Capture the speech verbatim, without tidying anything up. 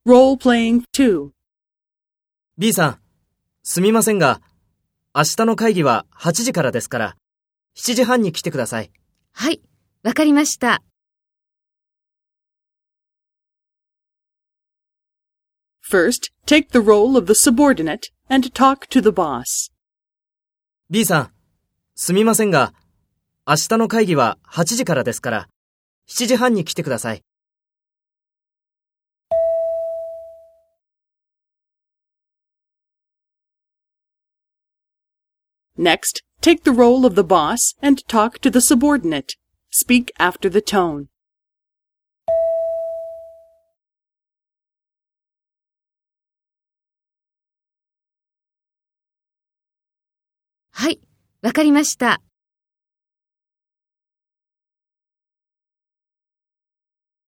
Role-playing two. B さん、すみませんが、明日の会議ははちじからですから、しちじはんに来てください。 はい、わかりました。 First, take the role of the subordinate and talk to the boss. B さん、すみませんが、明日の会議ははちじからですから、しちじはんに来てください。 Next, take the role of the boss and talk to the subordinate. Speak after the tone. はい、わかりました。